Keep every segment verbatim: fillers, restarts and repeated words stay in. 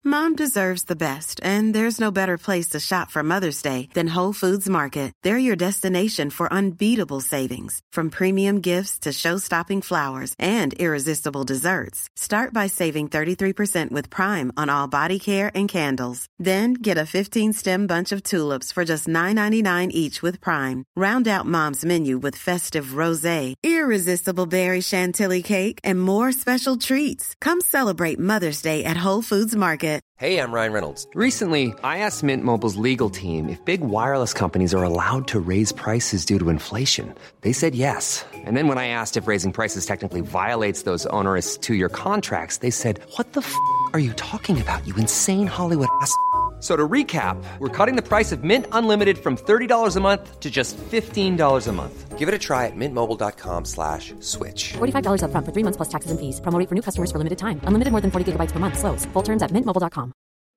Mom deserves the best, and there's no better place to shop for Mother's Day than Whole Foods Market. They're your destination for unbeatable savings, from premium gifts to show-stopping flowers and irresistible desserts. Start by saving thirty-three percent with Prime on all body care and candles. Then get a fifteen-stem bunch of tulips for just nine ninety-nine each with Prime. Round out Mom's menu with festive rosé, irresistible berry chantilly cake, and more special treats. Come celebrate Mother's Day at Whole Foods Market. Hey, I'm Ryan Reynolds. Recently, I asked Mint Mobile's legal team if big wireless companies are allowed to raise prices due to inflation. They said yes. And then when I asked if raising prices technically violates those onerous two-year contracts, they said, what the f*** are you talking about, you insane Hollywood ass f- So to recap, we're cutting the price of Mint Unlimited from thirty dollars a month to just fifteen dollars a month. Give it a try at mintmobile.com slash switch. forty-five dollars up front for three months plus taxes and fees. Promo rate for new customers for limited time. Unlimited more than forty gigabytes per month. Slows full terms at mint mobile dot com.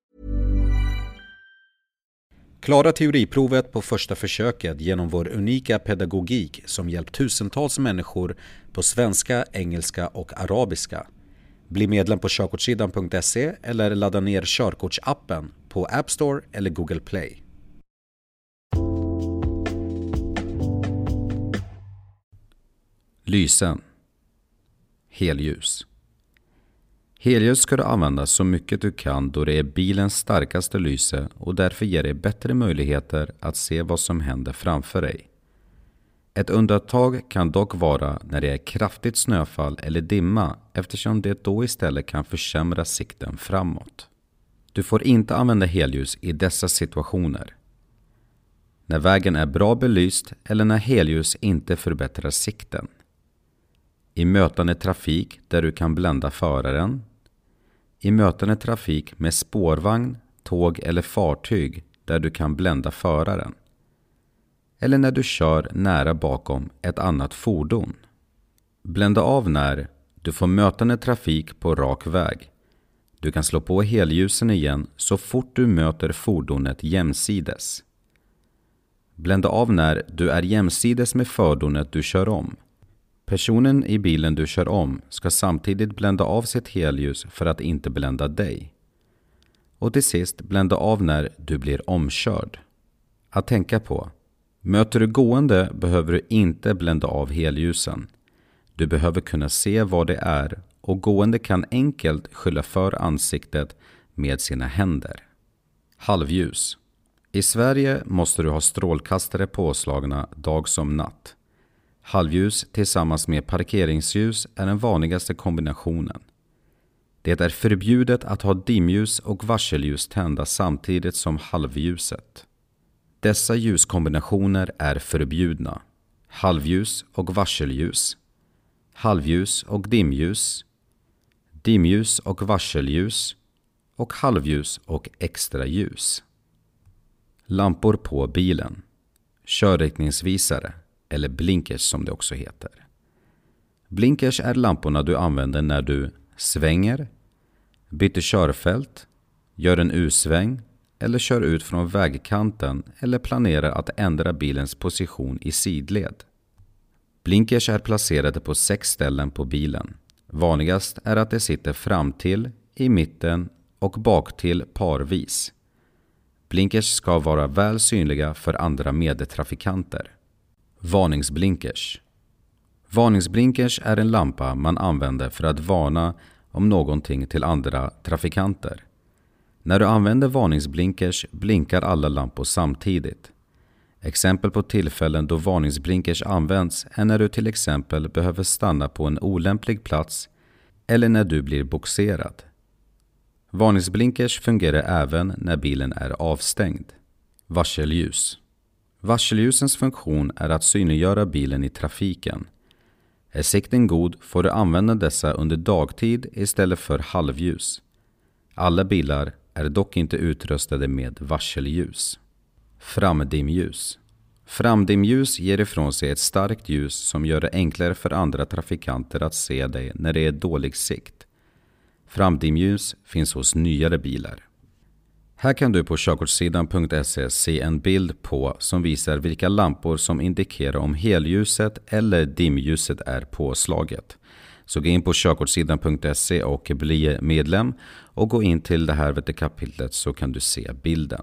Klara teoriprovet på första försöket genom vår unika pedagogik som hjälpt tusentals människor på svenska, engelska och arabiska. Bli medlem på körkortssidan punkt se eller ladda ner körkortsappen på App Store eller Google Play. Lysen. Helljus. Helljus ska du använda så mycket du kan då det är bilens starkaste lyse och därför ger det bättre möjligheter att se vad som händer framför dig. Ett undantag kan dock vara när det är kraftigt snöfall eller dimma eftersom det då istället kan försämra sikten framåt. Du får inte använda helljus i dessa situationer. När vägen är bra belyst eller när helljus inte förbättrar sikten. I mötande trafik där du kan blända föraren. I mötande trafik med spårvagn, tåg eller fartyg där du kan blända föraren. Eller när du kör nära bakom ett annat fordon. Blända av när du får mötande trafik på rak väg. Du kan slå på helljusen igen så fort du möter fordonet jämsides. Blända av när du är jämsides med fordonet du kör om. Personen i bilen du kör om ska samtidigt blända av sitt helljus för att inte blända dig. Och till sist blända av när du blir omkörd. Att tänka på. Möter du gående behöver du inte blända av helljusen. Du behöver kunna se vad det är och gående kan enkelt skylla för ansiktet med sina händer. Halvljus. I Sverige måste du ha strålkastare påslagna dag som natt. Halvljus tillsammans med parkeringsljus är den vanligaste kombinationen. Det är förbjudet att ha dimljus och varselljus tända samtidigt som halvljuset. Dessa ljuskombinationer är förbjudna. Halvljus och varselljus. Halvljus och dimljus. Dimljus och varselljus. Och halvljus och extraljus. Lampor på bilen. Körriktningsvisare. Eller blinkers som det också heter. Blinkers är lamporna du använder när du svänger, byter körfält, gör en U-sväng eller kör ut från vägkanten eller planerar att ändra bilens position i sidled. Blinkers är placerade på sex ställen på bilen. Vanligast är att det sitter fram till, i mitten och bak till parvis. Blinkers ska vara väl synliga för andra medtrafikanter. Varningsblinkers. Varningsblinkers är en lampa man använder för att varna om någonting till andra trafikanter. När du använder varningsblinkers blinkar alla lampor samtidigt. Exempel på tillfällen då varningsblinkers används är när du till exempel behöver stanna på en olämplig plats eller när du blir boxerad. Varningsblinkers fungerar även när bilen är avstängd. Varselljus. Varselljusens funktion är att synliggöra bilen i trafiken. Är sikten god får du använda dessa under dagtid istället för halvljus. Alla bilar är dock inte utrustade med varselljus. Framdimljus. Framdimljus ger ifrån sig ett starkt ljus som gör det enklare för andra trafikanter att se dig när det är dålig sikt. Framdimljus finns hos nyare bilar. Här kan du på körkortssidan punkt se se en bild på som visar vilka lampor som indikerar om helljuset eller dimljuset är påslaget. Så gå in på körkortssidan punkt se och bli medlem och gå in till det här kapitlet så kan du se bilden.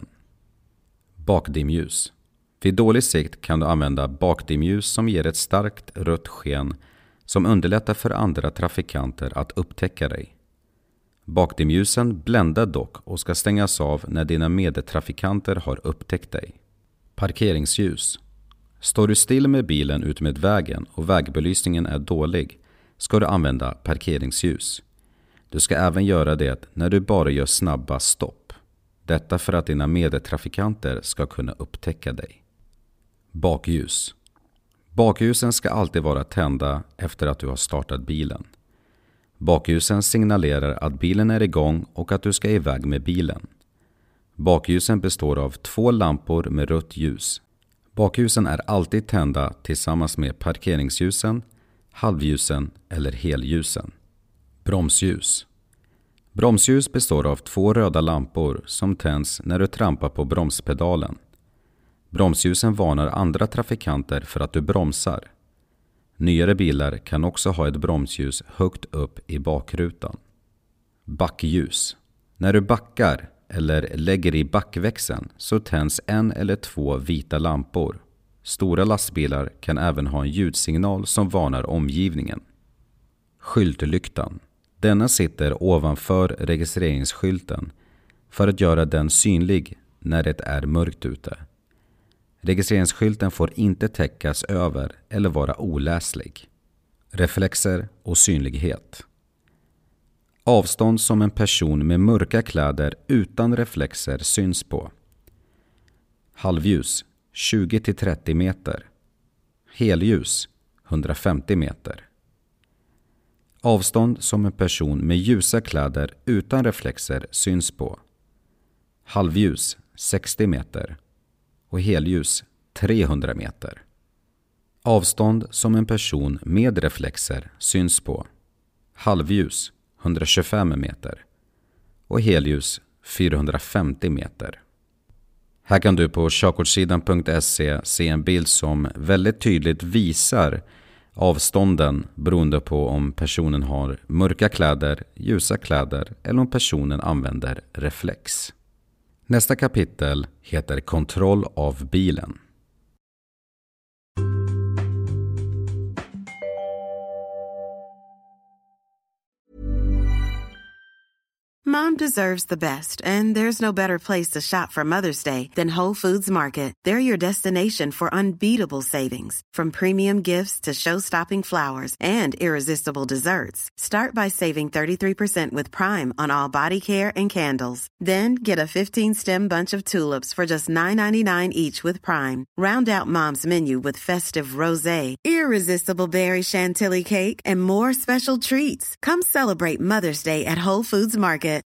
Bakdimljus. Vid dålig sikt kan du använda bakdimljus som ger ett starkt rött sken som underlättar för andra trafikanter att upptäcka dig. Bakdimljusen bländar dock och ska stängas av när dina medtrafikanter har upptäckt dig. Parkeringsljus. Står du still med bilen utmed vägen och vägbelysningen är dålig ska du använda parkeringsljus. Du ska även göra det när du bara gör snabba stopp. Detta för att dina medtrafikanter ska kunna upptäcka dig. Bakljus. Bakljusen ska alltid vara tända efter att du har startat bilen. Bakljusen signalerar att bilen är igång och att du ska iväg med bilen. Bakljusen består av två lampor med rött ljus. Bakljusen är alltid tända tillsammans med parkeringsljusen, halvljusen eller helljusen. Bromsljus. Bromsljus består av två röda lampor som tänds när du trampar på bromspedalen. Bromsljusen varnar andra trafikanter för att du bromsar. Nyare bilar kan också ha ett bromsljus högt upp i bakrutan. Backljus. När du backar eller lägger i backväxeln så tänds en eller två vita lampor. Stora lastbilar kan även ha en ljudsignal som varnar omgivningen. Skyltlyktan. Denna sitter ovanför registreringsskylten för att göra den synlig när det är mörkt ute. Registreringsskylten får inte täckas över eller vara oläslig. Reflexer och synlighet. Avstånd som en person med mörka kläder utan reflexer syns på. Halvljus tjugo till trettio meter. Helljus hundrafemtio meter. Avstånd som en person med ljusa kläder utan reflexer syns på. Halvljus sextio meter och helljus trehundra meter. Avstånd som en person med reflexer syns på. Halvljus hundratjugofem meter och helljus fyrahundrafemtio meter. Här kan du på körkortssidan punkt se se en bild som väldigt tydligt visar avstånden beroende på om personen har mörka kläder, ljusa kläder eller om personen använder reflex. Nästa kapitel heter kontroll av bilen. Mom deserves the best, and there's no better place to shop for Mother's Day than Whole Foods Market. They're your destination for unbeatable savings, from premium gifts to show-stopping flowers and irresistible desserts. Start by saving thirty-three percent with Prime on all body care and candles. Then get a fifteen-stem bunch of tulips for just nine ninety-nine each with Prime. Round out Mom's menu with festive rosé, irresistible berry chantilly cake, and more special treats. Come celebrate Mother's Day at Whole Foods Market.